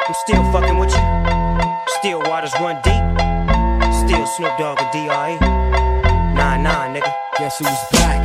I'm still fucking with you. Still waters run deep. Still Snoop Dogg and D.R.E. Nah, nigga. Guess who's back?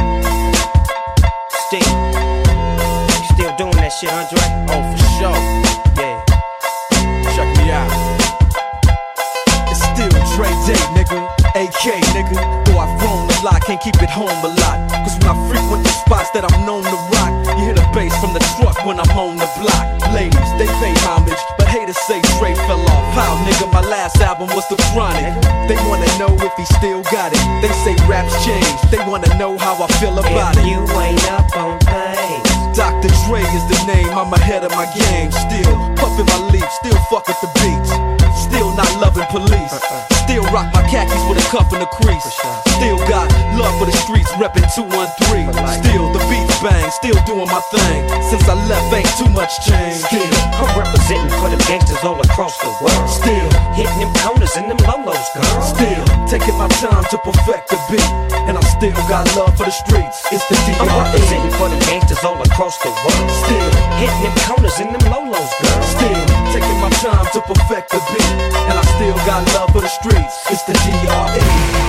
Still doing that shit, Andre? Oh, for sure. Yeah. Check me out. It's still Dre Day, nigga. AK, nigga. Though I've grown a lot, can't keep it home a lot. Cause when I frequent the spots that I'm known to rock, you hear the bass from the truck when I'm on the block. Ladies, they pay homage, but haters say Dre fell off. How, nigga, my last album was The Chronic. They wanna know if he still got it. They say raps change, they wanna know how I feel about it. You ain't up on things. Dr. Dre is the name, I'm ahead of my game. Still puffin' my leaf, still fuck with the beats. Still not loving police. Still rock my khakis with a cuff and a crease. Still got love for the streets, reppin' 213. Still the beats bang, still doing my thing. Since I left, ain't too much change. Still, I'm representing for the gangsters all across the world. Still hitting them corners and them lolos, girl. Still taking my time to perfect the beat. And I still got love for the streets. It's the D.R.E. I'm representing for the gangsters all across the world. Still hitting them corners and them lolos, girl. Still taking my time to perfect the beat. And I still got love for the streets. It's the D.R.E.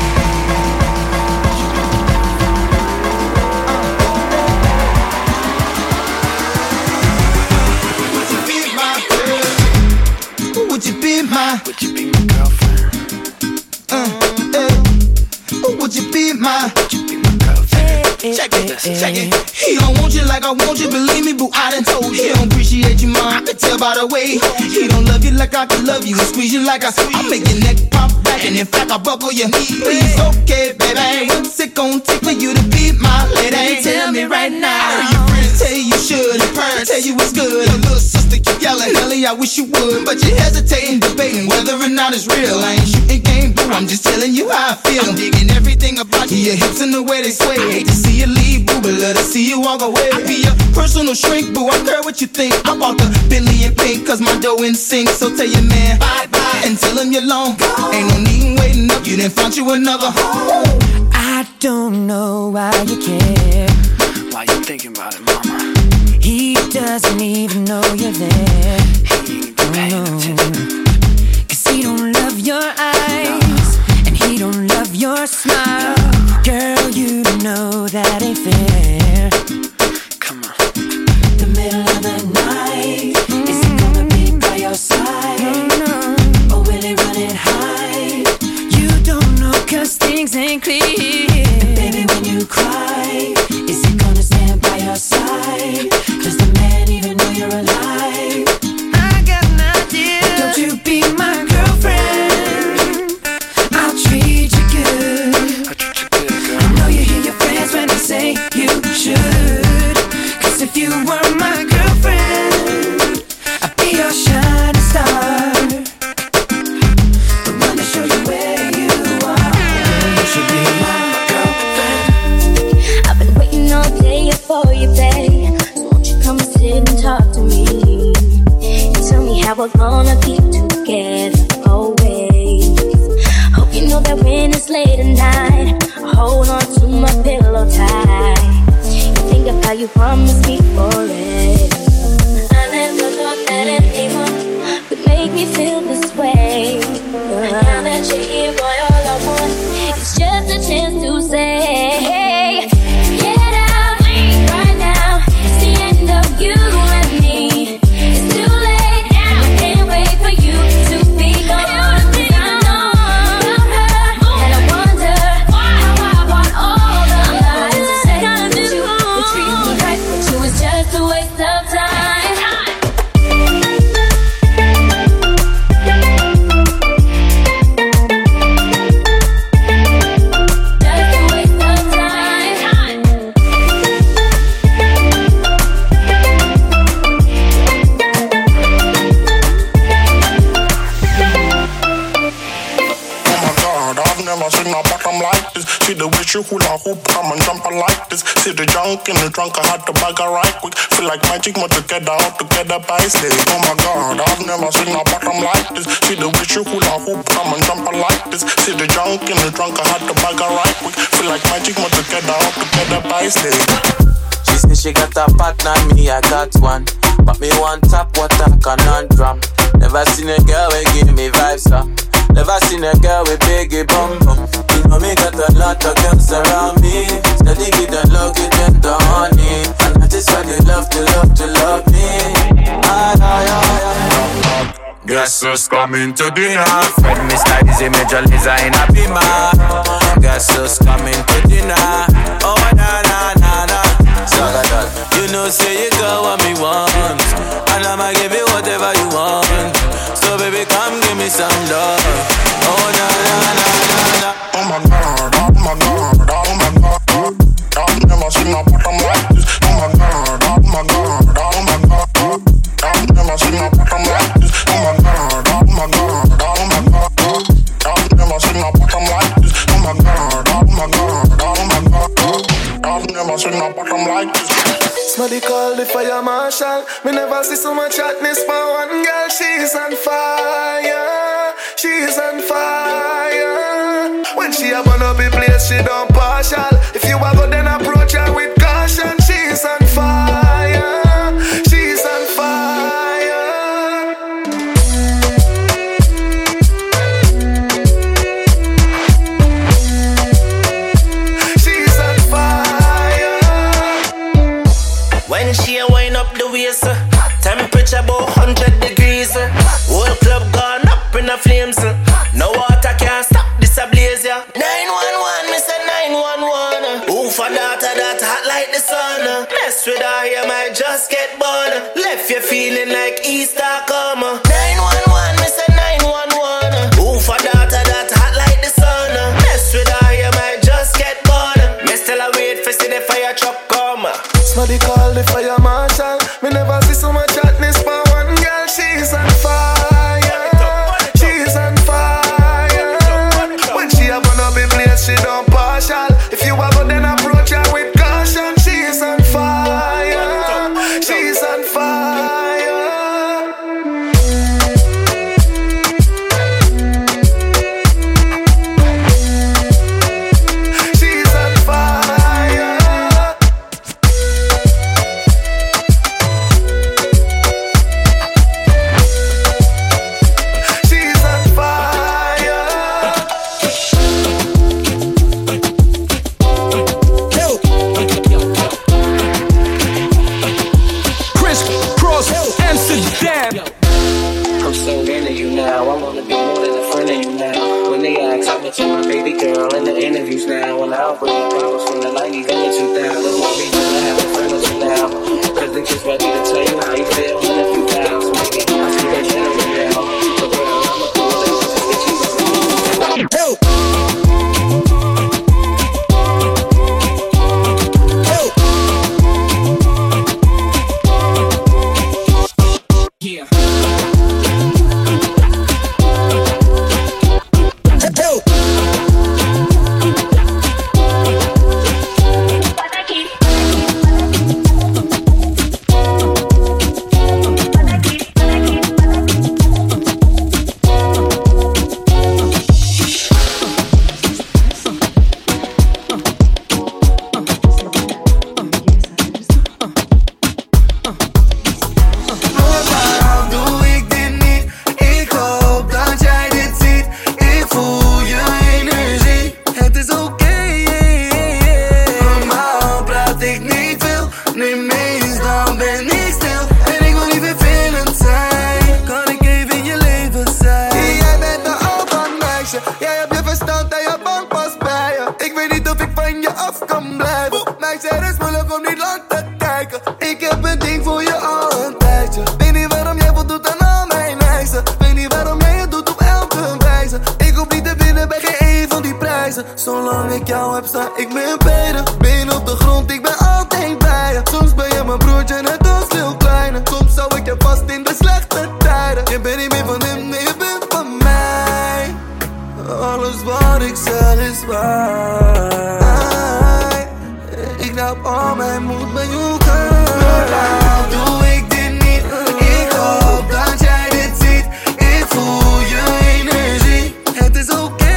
Would you be my girlfriend? Would you be my girlfriend? Check it. He don't want you like I want you, believe me, boo, I done told you. He don't appreciate you, ma, I can tell by the way. He don't love you like I can love you, and squeeze you like I make your neck pop back, and in fact I buckle your knee. Please, okay, baby, what's it gon' take for you to be my lady? Tell me right now. I heard your friends tell you should, and parents tell you it's good. Your little sister keep yelling, Ellie, I wish you would, but you hesitating, debating whether or not it's real. I ain't shooting game, boo, I'm just telling you how I feel. I'm digging everything about you, your hips and the way they sway. Hate to see you leave, boo, but love to see you walk away. I be your personal shrink, boo, I care what you think. I bought the Bentley in pink, cause my dough in sync. So tell your man bye-bye and tell him you're long. Ain't no need waiting up, you didn't find you another home. I don't know why you care. Why you thinking about it, mama? He doesn't even know you're there. He ain't even paying attention. Cause he don't love your eyes, and he don't love your smile. Girl, you know that ain't fair. Come on. The middle of the night, is he gonna be by your side? Or will he run and hide? You don't know cause things ain't clear. And baby, when you cry, is he gonna stand by your side? Does the man even know you're alive? I got an idea. Don't you be my girlfriend, I'll treat you good. I treat you good, girl. I know you hear your friends when they say you should. Cause if you were my girlfriend, I'd be your shining star, the one to show you where you are. You should be my girlfriend. I've been waiting all day for you, babe. So won't you come and sit and talk to me and tell me how we're gonna be together always. Hope you know that when it's late at night, I hold on to my pillow tight. You think of how you promised me forever. I never thought that anyone would make me feel this way. Now that you're here, boy, all I want is just a chance to say, hey, get out right now. It's the end of you and me. It's too late now. I can't wait for you to be gone. 'Cause I know about her, and I wonder how I want all the lies to say that you would treat me right, but you was just a waste of time. See the way she hula hoop, come and jump like this. See the junk in the trunk, I had to bag her right quick. Feel like magic, but together, all together by slave. Oh my God, I've never seen a bottom like this. See the way she hula hoop, come and jump like this. See the junk in the trunk, I had to bag her right quick. Feel like magic, but together, all together by slave. She said she got a partner, me I got one. But me one tap, what a conundrum. Never seen a girl with give me vibes, Never seen a girl with biggie bum bum. You know me got a lot of girls around me. Steady give the love, give them the honey. And that is why they love me. Guess who's coming to dinner? Fred Mr. Easy Major Liza in a beamer. Guess who's coming to dinner? Oh na na na na. Sagadal, you know say you got what me want, and I'ma give you whatever you want. So baby come give me some love. Oh na na na na na. Oh my God, oh my God, oh my God. I've never seen a bottom like this. Oh my God, oh my God, oh my God. I've never seen a bottom like this. Oh my God, oh my God, oh my God. I've never seen a bottom like this. Oh my God, oh my God, oh my God. I've never seen a bottom like this. Somebody call the fire marshal. Me never see so much hotness for one girl. She's on fire. She's on fire. When she a burn up the place, she don't partial. If you a go then approach her with caution. She's on fire. She's on fire. She's on fire. When she a wind up the waist, temperature about 100 degrees. Whole club gone up in the flames. No water can stop this a blaze, yeah. 911, me say 911. Who for that hot like the sun? Mess with her, you might just get born. Left you feeling like Easter come. 911, me say 911. Who for that hot like the sun? Mess with her, you might just get born. Me still a wait for see the fire truck come. Somebody call the fire marshal. Me never see so much hotness for one girl. She's on fire. She's on fire. When she a burn up in place, she don't partial. If you a go then approach her with caution. She's on fire. She's on fire. She's on fire. She's on fire. Chris Cross, Amsterdam. I'm so into you now. I wanna be more than a friend of you now. When they ask, I met you, my baby girl, in the interviews now. When I bring problems from the 90s and the 2000s, want me to have a friend with you now. Cause they just ready to tell you how you feel in a few pounds. Maybe I see that general now. So girl, I'ma do whatever to get you around. Yeah. Waarom doe ik dit niet? Ik hoop dat jij dit ziet. Ik voel je energie. Het is oké. Normaal praat ik niet veel. Nu meestal ben ik stil. En ik wil niet vervelend zijn. Kan ik even in je leven zijn? Jij bent een open meisje. Jij hebt je verstand en je bank pas bij je. Ik weet niet of ik van je af kan blijven. Meisje, het is moeilijk om niet lang te kijken. Ik heb een ding voor je al een tijdje. Weet niet waarom jij voldoet aan al mijn eisen. Weet niet waarom jij het doet op elke wijze. Ik hoef niet te winnen bij geen een van die prijzen. Zolang ik jou heb, sta ik meer beter. Been op de grond, ik ben altijd bij je. Soms ben je mijn broertje, net als veel kleine. Soms zou ik je vast in de slechte tijden. Je bent niet meer van hem, nee, je bent van mij. Alles wat ik zeg is waar. Ik laat al mijn moed bij jou gaan. Waarom doe ik dit niet? Ik hoop dat jij dit ziet. Ik voel je energie. Het is oké.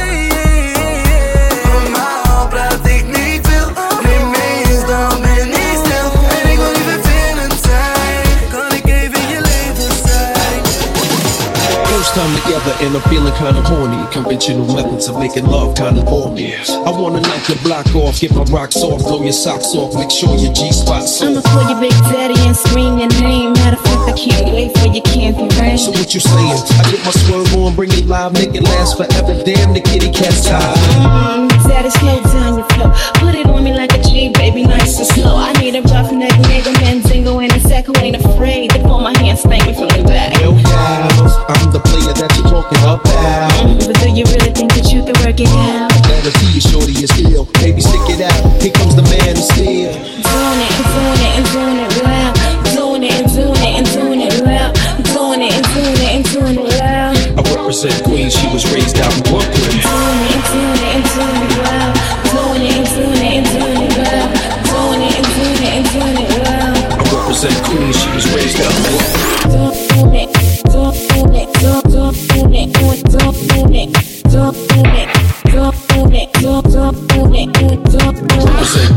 Normaal praat ik niet veel. Nu meestal ben ik stil. En ik wil niet vervelend zijn. Kan ik even come together and I'm feeling kinda horny. Conventional methods of making love kinda bore me. I wanna knock your block off, get my rocks off, blow your socks off, make sure your G-spot's off. I'ma call your big daddy and scream your name. Matter of fact, I can't wait for your candy rain. So what you saying? I get my swerve on, bring it live, make it last forever. Damn, the kitty cat's tired. Daddy, slow down your flow. Put it on me like a G, baby, nice and slow. I need a roughneck nigga, Mandingo in a sack who ain't afraid to pull my hand, spank me from the back. Hell yeah, I'm the player that you're talking about. But do you really think that you can work it out? Better see you, shorty, is still. Baby, stick it out. Here comes the man of steel. Doing it and doing it and doing it loud. Doing it and doing it and doing it loud. Doing it and doing it and doing it loud. I represent Queens, she was raised out in Brooklyn. Doing it and doing it and doing it loud. Doing it and doing it and doing it loud. Doing it and doing it and doing it loud. I represent Queens, she was raised out in Brooklyn. Doing it, doing it, doing it, doing it, doing it, doing it, doing it, doing it, doing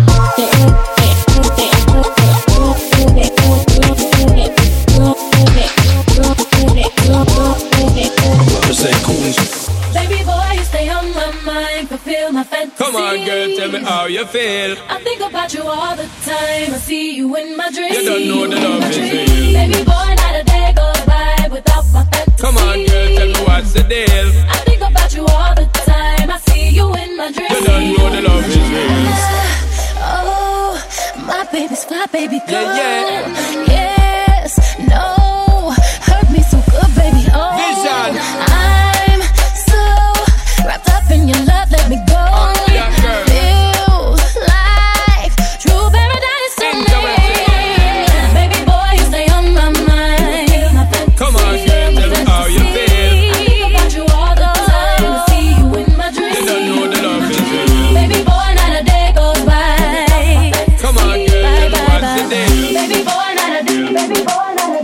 Baby boy, you stay on my mind, fulfill my fantasy. Come on, girl, tell me how you feel. I think about you all the time. I see you in my dreams. You don't know the love is real. Baby boy, not a day goes by without my fantasy. Come on, girl, tell me what's the deal. I think about you all the time. I see you in my dreams. You don't know the love is real. Oh, my baby's fly, baby girl. Yeah. Yes, no, hurt me so good, baby. Oh, Vision. I'm so wrapped up in your love. Let me go. Yeah, girl. Feels like true paradise to me. Baby boy, you stay on my mind. Come on, girl, tell me how you feel. I think about you all the time. I see you in my dreams. You don't know the love is real. Baby boy, not a day goes by. Come on, girl, tell me what's the deal. Baby boy, not a day. Baby boy.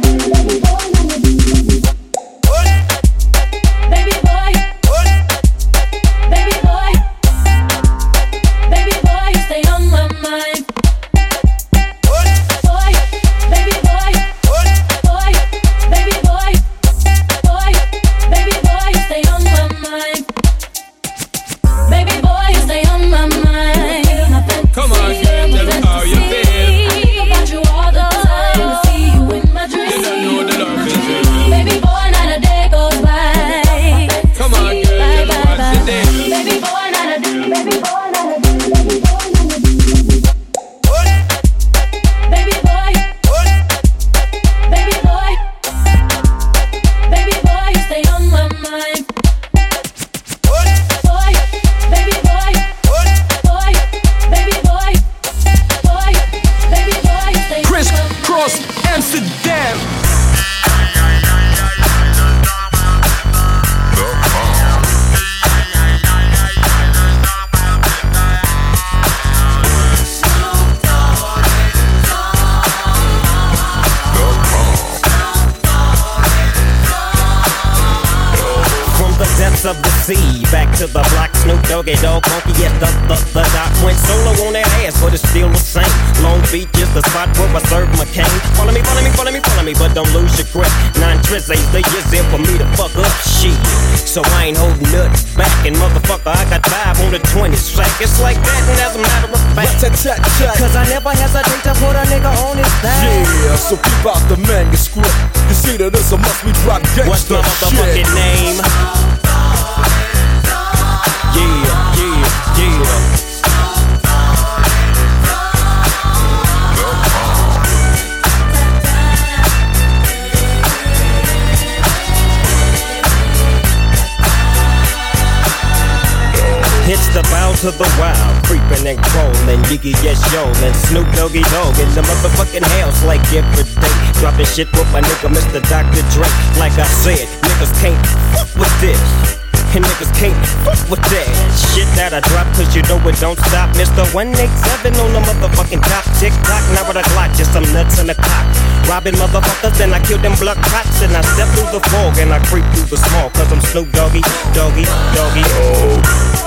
Of the sea, back to the block, Snoop Doggy Dogg, funky, yes, the doc went solo on that ass, but it's still the same. Long Beach is the spot where I serve my cane. Follow me, but don't lose your grip. 9 tris ain't the years in for me to fuck up shit. So I ain't holding nothing back, and motherfucker, I got 5 on the 20 sack. It's like that, and as a matter of fact, cause I never hesitate to put a nigga on his back. Yeah, so keep out the manuscript. You see that this a must we drop gangsta. What's my motherfucking name? Yeah. It's the bow to the wild, creeping and crawling, Yiggy yes yo, and Snoop Doggy Dogg in the motherfucking house like every day. Dropping shit with my nigga Mr. Dr. Dre. Like I said, niggas can't fuck with this. And niggas can't fuck with that shit that I drop, cause you know it don't stop. Mr. 187 on the motherfucking top. Tick-tock, now with a Glock, just some nuts in the cock. Robbing motherfuckers, then I kill them blood cops. And I step through the fog and I creep through the small, cause I'm Snoop Doggy, Doggy, Doggy, oh.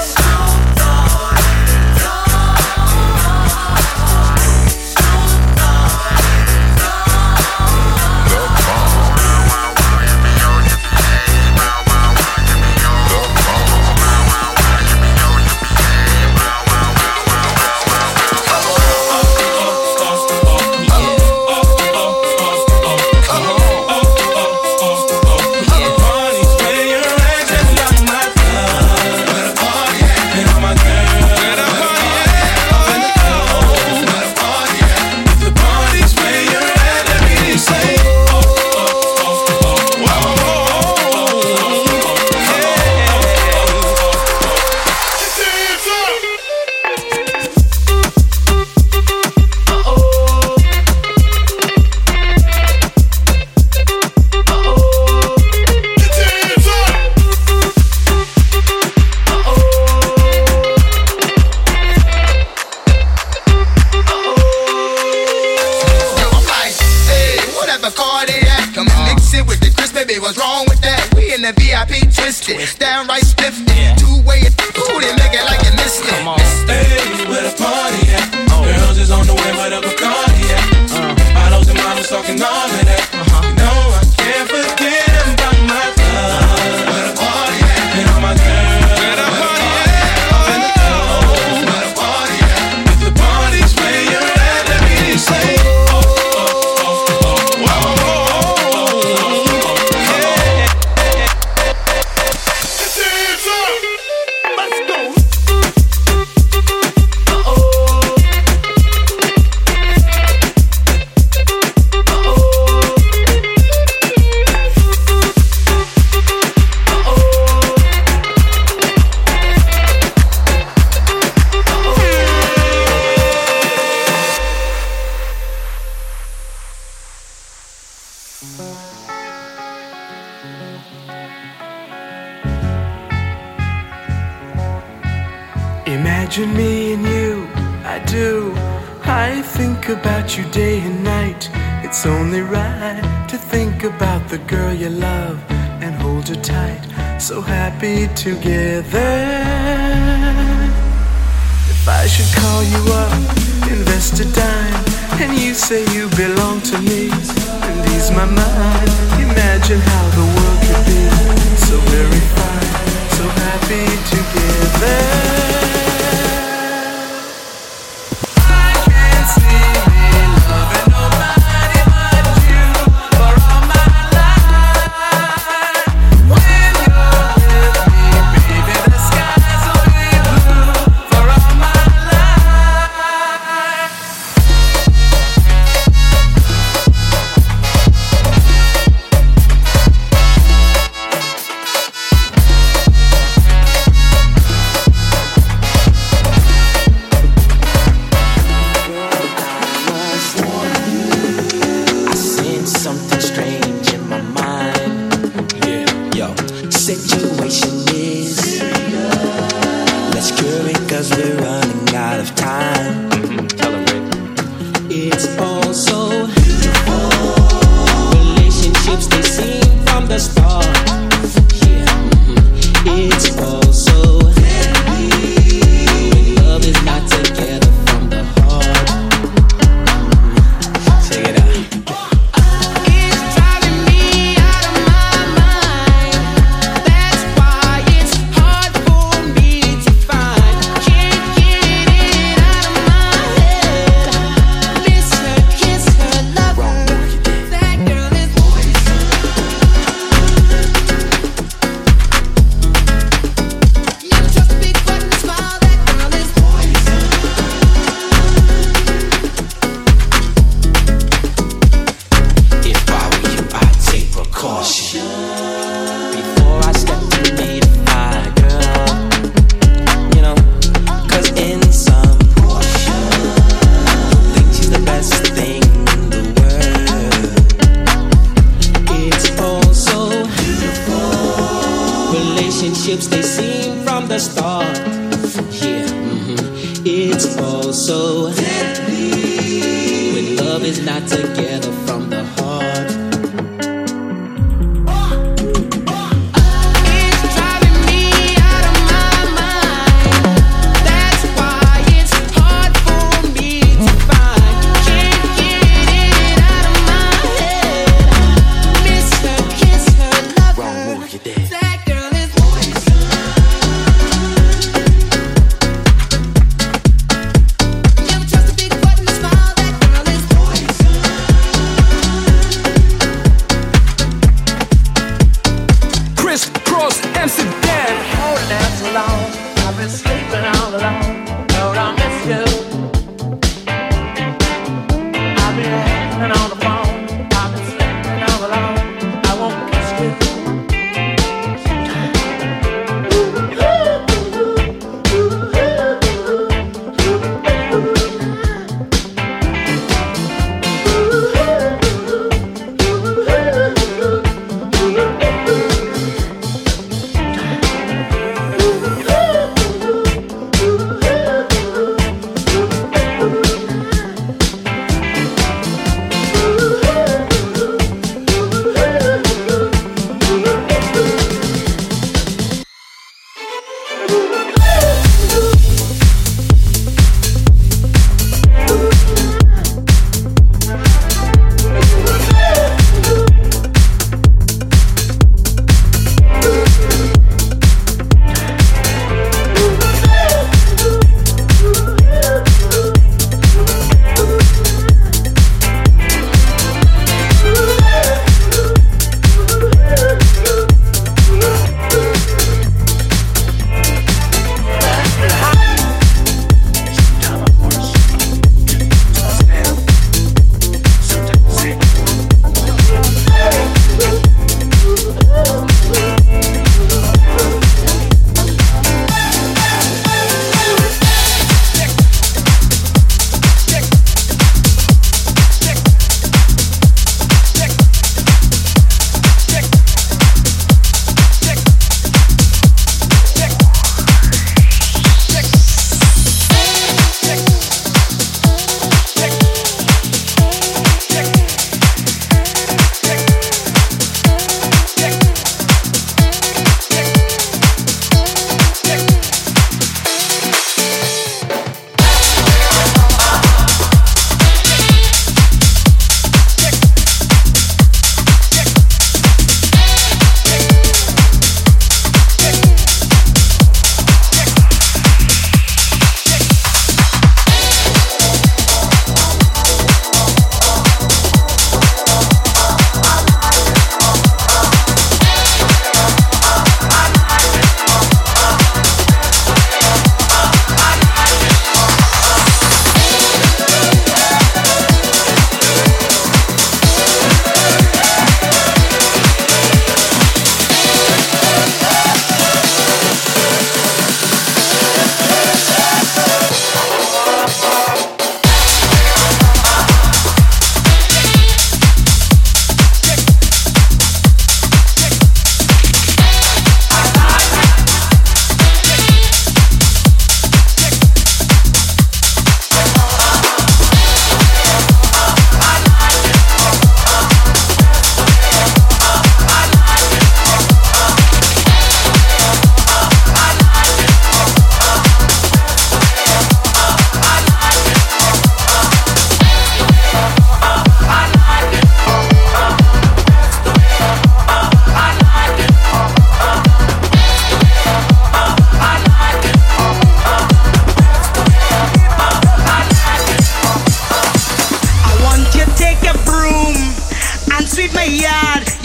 party at? Come and mix it with the crisp, baby, what's wrong with that? We in the VIP twisted, downright spiffed. Two-way, ooh, they make it like you missed it. Hey, where the party at? Girls is on the way, where the Bacardi at? Bottles and models talking all of that. You know I can't forget about my love. Where the party at? And all my girls. Where the party at? Up in the club. Where the party at? If the party's where you're at, let me say. Imagine me and you, I do. I think about you day and night. It's only right to think about the girl you love and hold her tight. So happy together. If I should call you up, invest a dime, and you say you belong to me and ease my mind. Imagine how the world could be so very fine, so happy together.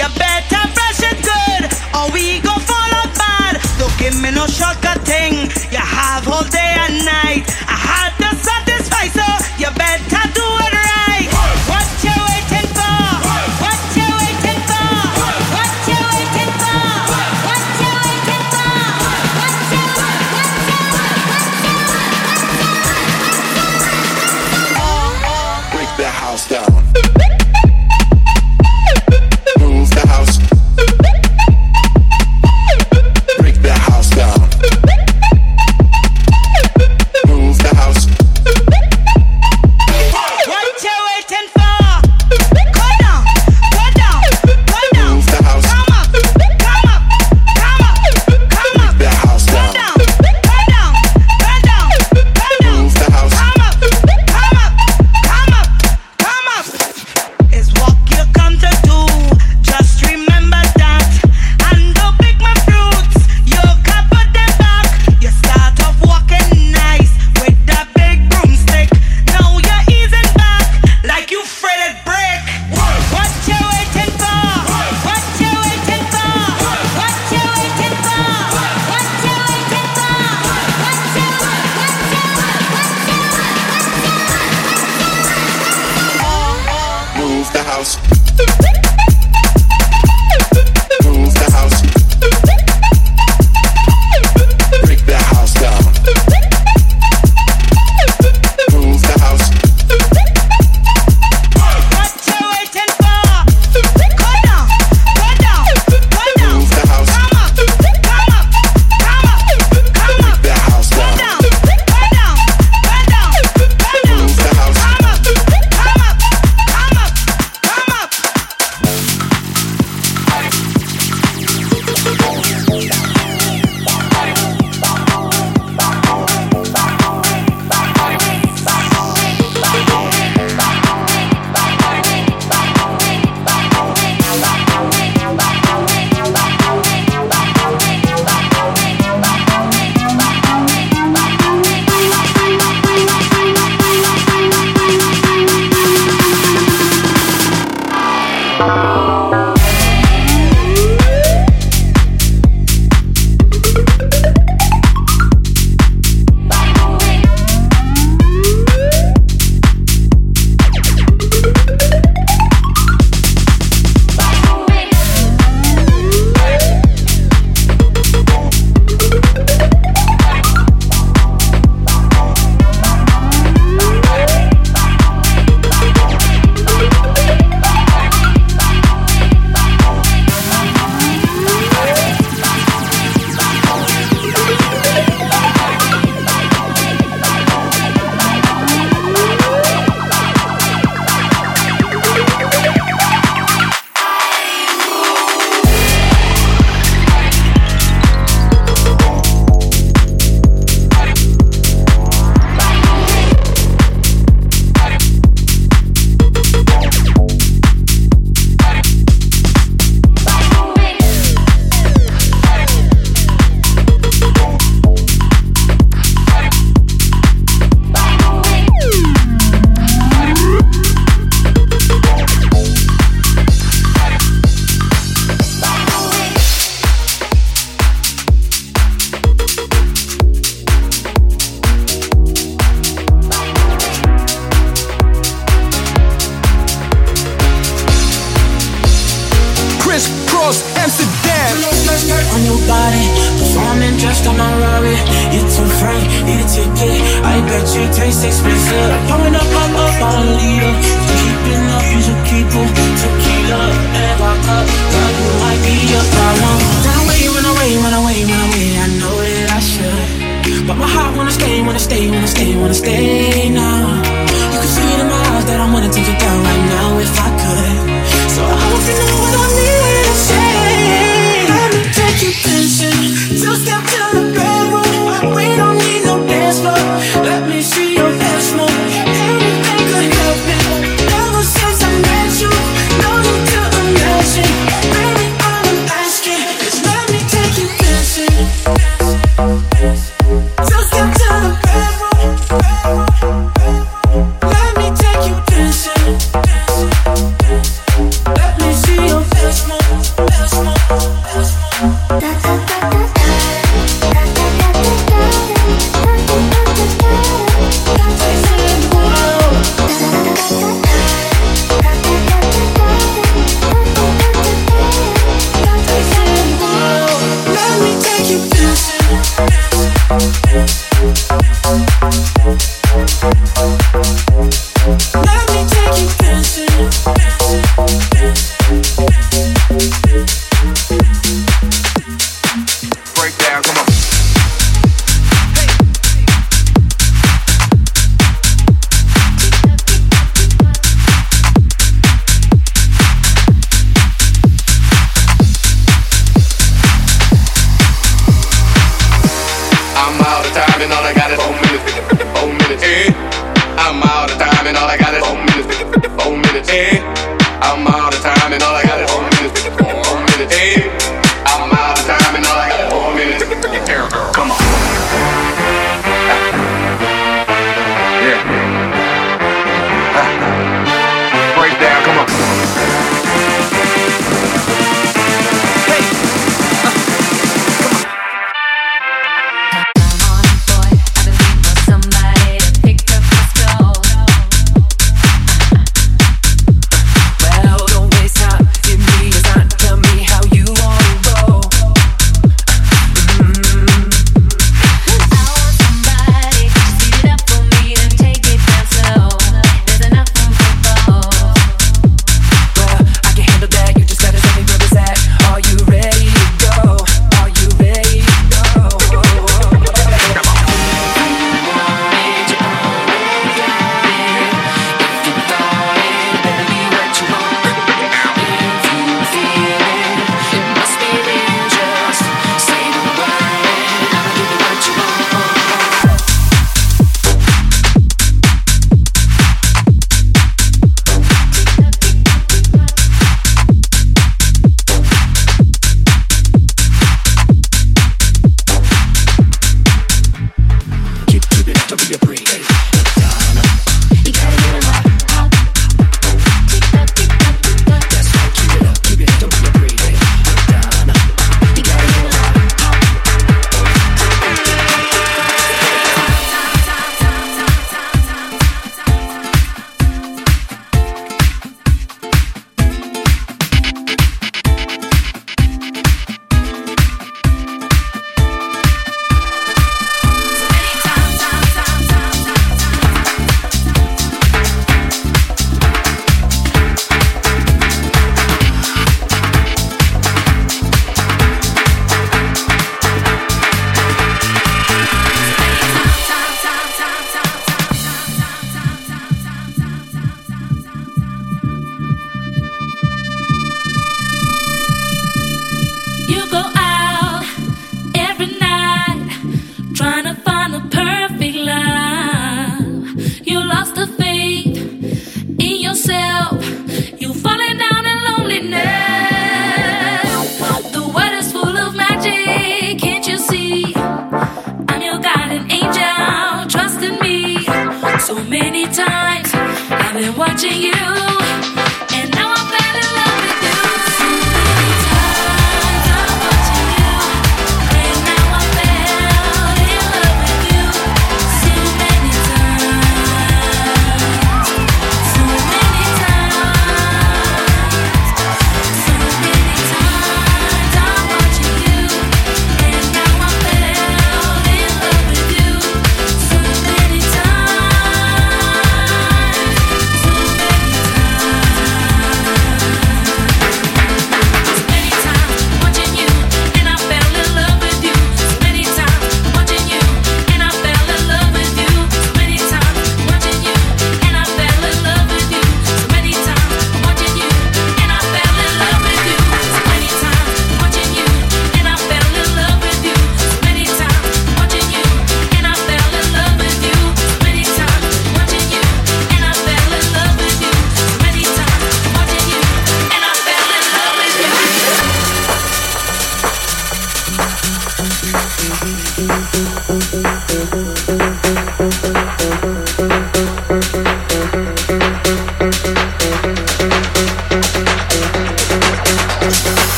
You better brush it good, or we go fall apart. Don't give me no shortcut thing. You have all day and night. I had to satisfy, so you better do it right. What you waiting for? What you waiting for? What you waiting for? What you waiting for? Break that house down. Move the house. Break that house down. Move the house. What you waiting for? Go down, go down, go down. Move the house. Come up, come up, come up, come up. Break that house Go down. down, go down, go down, go down. Move the house. Come up, come up, come up, come up. It's what you come to do. Just remember that. And don't pick my fruits. You can't put them back. You start off walking nice with that big broomstick. Now you're easing back like you fretted brick. What you waiting for? What you waiting for? What you waiting for? What you waiting for? Move the house. Move the house. Break that house down. Move the house. What you waiting for? Go down, go down, go down. Move the house. Come up, come up, come up, come up. Break that house Go down. down, go down, go down, go down. Move the house. Come up, come up, come up, come up. Crisscross Amsterdam. On your body, performing just on my Rari. You're too frank, need a ticket. I bet you taste expensive. Pouring up on a leader. Keeping up, you should keep them. Tequila and vodka. Girl, you might be a problem. Run away, run away, run away, run away. I know that I should, but my heart wanna stay, wanna stay, wanna stay, wanna stay now. You can see it in my eyes that I wanna take it down right now if I could. So I hope you know what I mean to say. Let me take you dancing, two-step to the bedroom. We don't need no dance floor. Let me see your dance move. Anything could help it. Ever since I met you, no need to imagine. Baby, all I'm asking is let me take you dancing. Two-step to the bedroom. time and all I got is 4 minutes. 4 minutes. Hey, I'm all the time and all I got is 4 minutes. 4 minutes. Hey, I'm all the time and all I got is 4 minutes. 4 minutes. Hey, I'm all the time and all I got is 4 minutes. Come on. Yeah. Break down. Come on.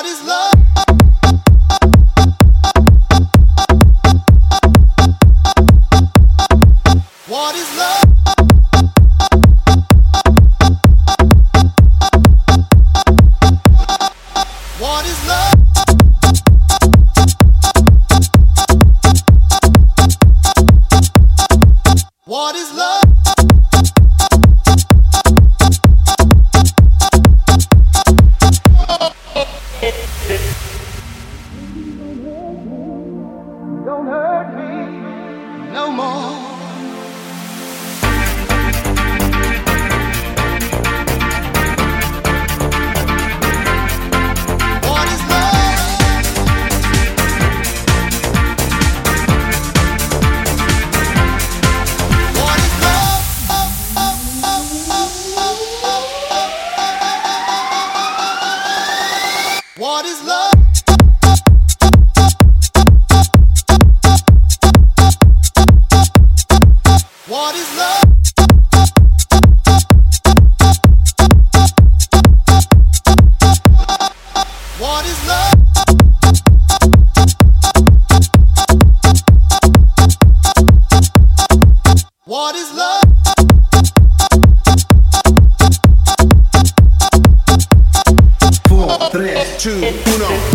What is love? What is love? What is love? What is love? Don't hurt me no more. What is love? What is love? What is love? What is love? 4, 3, 2, 1.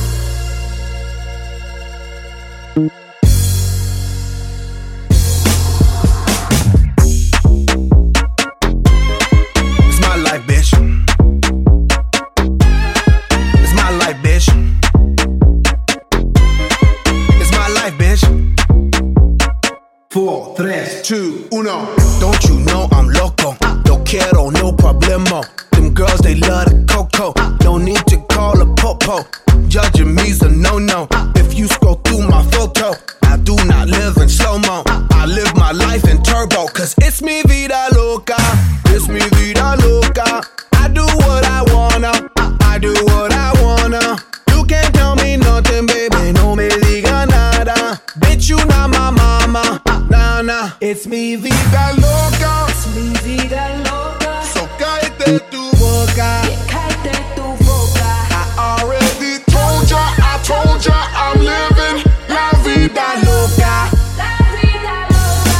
Don't you know I'm loco? Don't quiero, no problemo. Them girls, they love the cocoa. No need to call a popo. Judging me's a no-no. If you scroll through my photo, I do not live in slow-mo. I live my life in turbo. Cause it's mi vida loca. It's mi vida loca. I do what I wanna. I do what I wanna. You can't tell me nothing, baby. No me diga nada. Bitch, you not my mama. Nah. It's mi vida loca. It's mi vida loca. So cállate tu boca. Yeah, cállate tu boca. I already told ya I'm living la vida loca. La vida loca.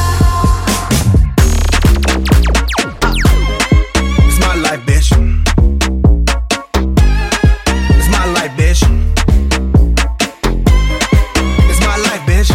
It's my life, bitch. It's my life, bitch. It's my life, bitch.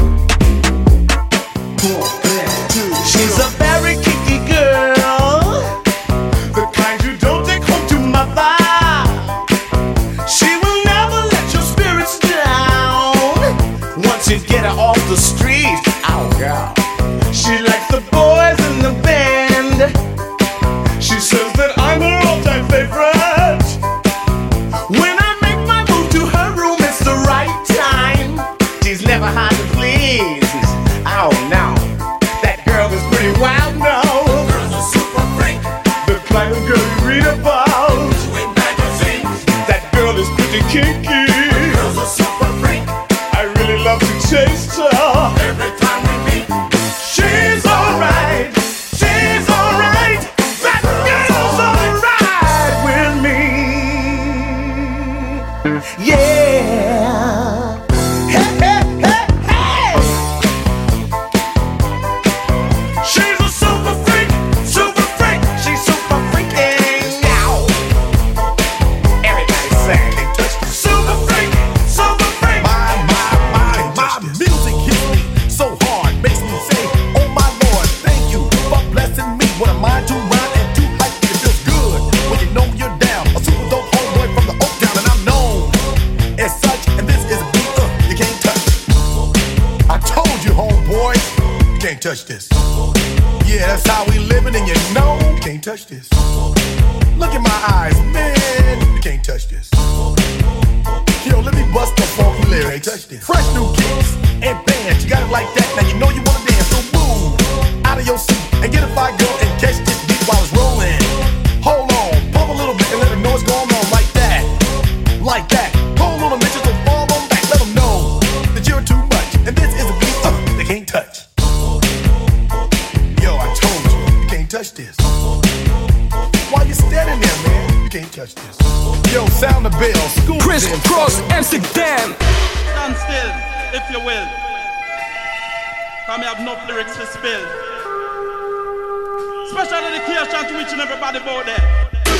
4, 3, 2. She's a very kicky girl, the kind you don't take home to mother. She will never let your spirits down once you get her off the street. Oh, girl. She likes the boys in the band. She says that I'm her all-time favorite. When I make my move to her room, it's the right time. She's never hard to please. Oh, no. Is pretty wild now. Girls are super freak. The kind of girl you read about in magazines. That girl is pretty kinky. Girls are super freak. I really love to taste her. Every time we meet, she's alright. She's alright. That girl's alright with me. Yeah. Hey, hey, hey, hey. She's a super freak, she's super freaking now. Everybody saying they touch the super freak. My music hits me so hard, makes me say, oh my Lord, thank you for blessing me. What a mind to rhyme and to hype, it feels good when you know you're down. A super dope homeboy from the Oak Town, and I'm known as such. And this is a beat you can't touch. I told you, homeboy, you can't touch this. Yeah, that's how we living, and you know you can't touch this. Look in my eyes, man, you can't touch this. Yo, let me bust the funky lyrics. Fresh new kicks and bands, you got it like that. Now you know you wanna dance, so move out of your seat and get a fire girl and catch this beat while it's rolling. Hold on, pump a little bit and let them know what's going on like that. Like that. Hold on a minute, just don't fall on back. Let them know that you're too much, and this is a beat they can't touch. Yo, I told you, you can't touch this. Why you standing there, man? You can't touch this. Yo, sound the bell. School Chris them. Cross Amsterdam. Stand still, if you will. Come have enough lyrics to spill. Special dedication to each and everybody out there.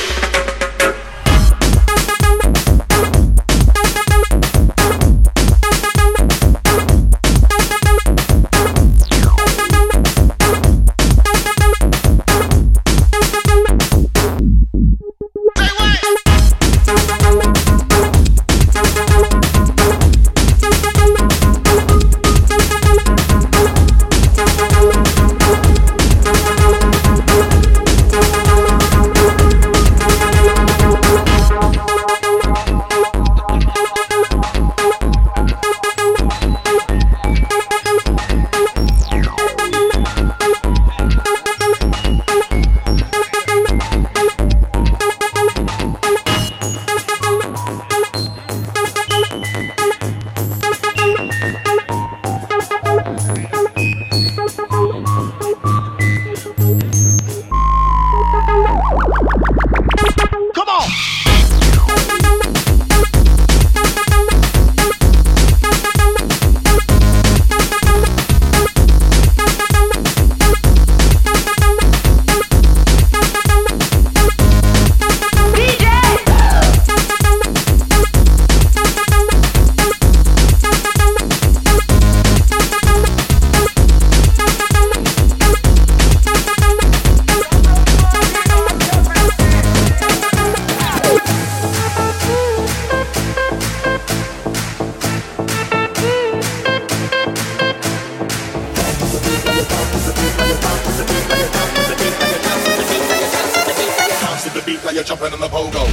You're jumping on the pogo.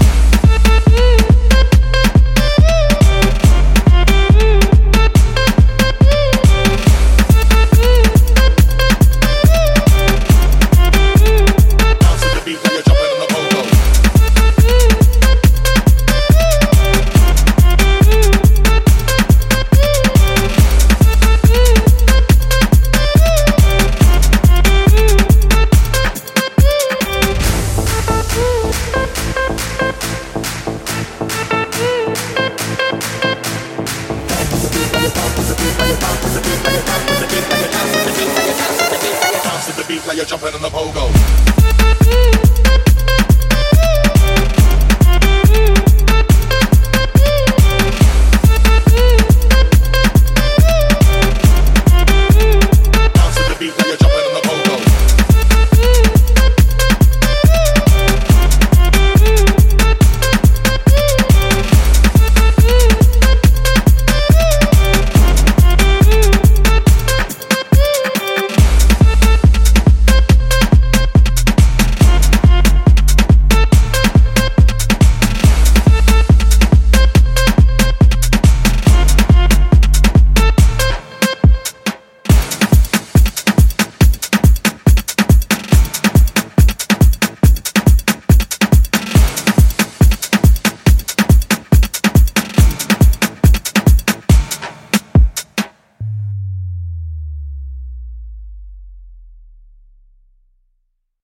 You're jumping on the pogo.